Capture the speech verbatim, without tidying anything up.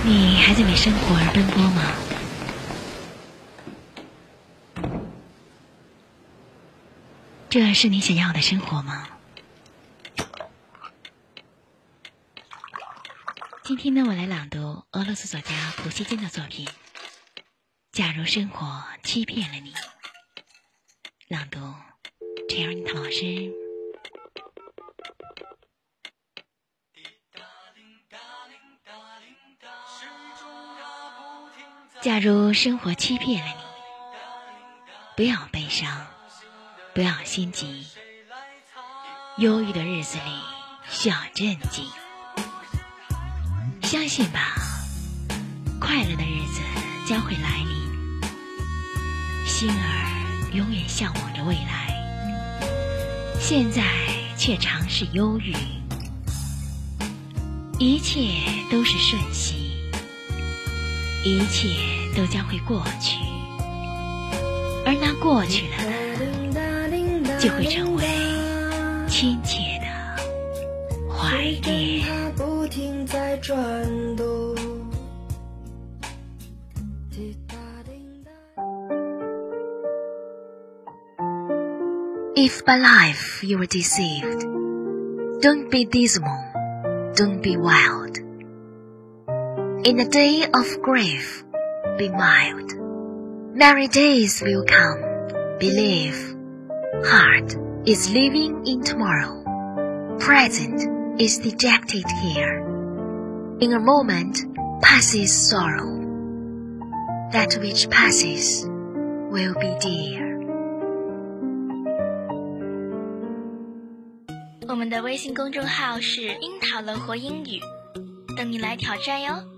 你还在为生活而奔波吗？这是你想要的生活吗？今天呢，我来朗读俄罗斯作家普希金的作品《假如生活欺骗了你》。朗读陈瑶妮老师。假如生活欺骗了你，不要悲伤，不要心急，忧郁的日子里需要镇静。相信吧，快乐的日子将会来临，心儿永远向往着未来，现在却常是忧郁。一切都是瞬息，一切都将会过去，而那过去了的就会成为亲切的怀念。不停在转动。If by life you were deceived, don't be dismal, don't be wild. In the day of grief, be mild. Merry days will come, believe. Heart is living in tomorrow. Present is dejected here. In a moment passes sorrow. That which passes will be dear. 我们的微信公众号是樱桃乐活英语，等你来挑战哟。